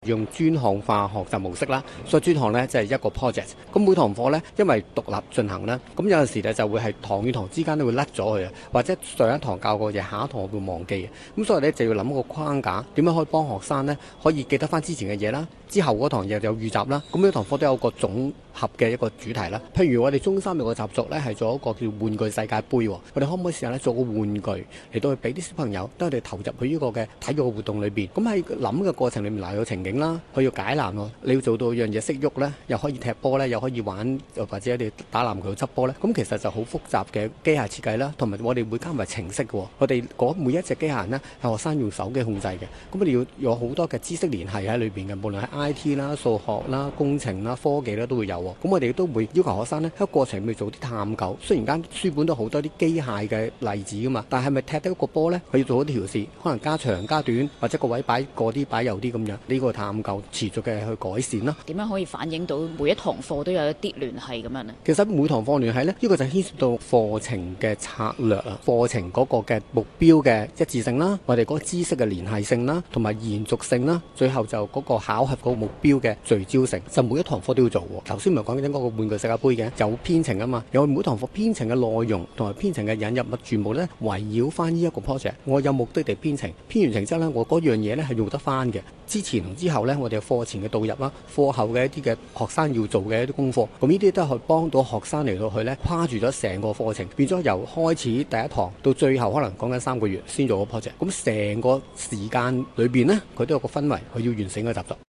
用專項化學習模式啦，所以專項呢，即係一個 project。咁每堂課呢，因為獨立進行啦，咁有陣時呢就會係堂與堂之間都會甩咗佢啊，或者上一堂教過嘢，下一堂會忘記嘅。咁所以呢，就要諗個框架，點樣可以幫學生呢可以記得翻之前嘅嘢啦，之後嗰堂又有預習啦。咁每堂課都有個總合嘅一個主題啦。譬如我哋中三有個習俗呢，係做一個叫玩具世界盃，我哋可唔可以試下呢做個玩具嚟到去俾啲小朋友，等佢哋投入去呢個嘅體育嘅活動裏邊。咁喺諗嘅過程裏面，嗱有情景啦，佢要解難喎，你要做到樣嘢識喐呢，又可以踢波呢，又可以玩，或者你打籃球執波呢。咁其實就好複雜嘅機械設計啦，同埋我哋會加埋程式嘅。我哋嗰每一隻機械人呢，係學生用手機控制嘅。咁我哋要有好多嘅知識聯繫喺裏邊嘅，無論係 IT 啦、數學啦、工程啦、科技啦都會有。咁我哋都會要求學生呢喺個過程裏面做啲探究。雖然間書本都好多啲機械嘅例子噶嘛，但係咪踢得一個波呢？佢要做好啲調試，可能加長加短，或者個位擺過啲擺右啲咁樣。呢個探究持續嘅去改善啦。 點樣可以反映到每一堂課都有一啲聯繫咁樣呢？ 其實每堂課聯繫呢，呢個就牽涉到課程嘅策略啊，課程嗰個嘅目標嘅一致性啦，我哋嗰個知識嘅聯繫性啦，同埋延續性啦，最後就嗰個考核嗰個目標嘅聚焦性，就每一堂課都要做。頭先咪講緊嗰個玩具世界盃嘅，有編程啊嘛，有每堂課編程嘅內容同埋編程嘅引入物，全部呢圍繞翻呢一個 project。我有目的地編程，編完程之後呢，我嗰樣嘢呢係用得翻嘅。之前同之後呢，我哋課前嘅導入啦，課後嘅一啲嘅學生要做嘅一啲功課，咁呢啲都係幫到學生嚟到去呢，跨住咗成個課程，變咗由開始第一堂到最後可能講緊3個月先做個 project。咁成個時間裏邊呢，佢都有個氛圍，佢要完成個習作。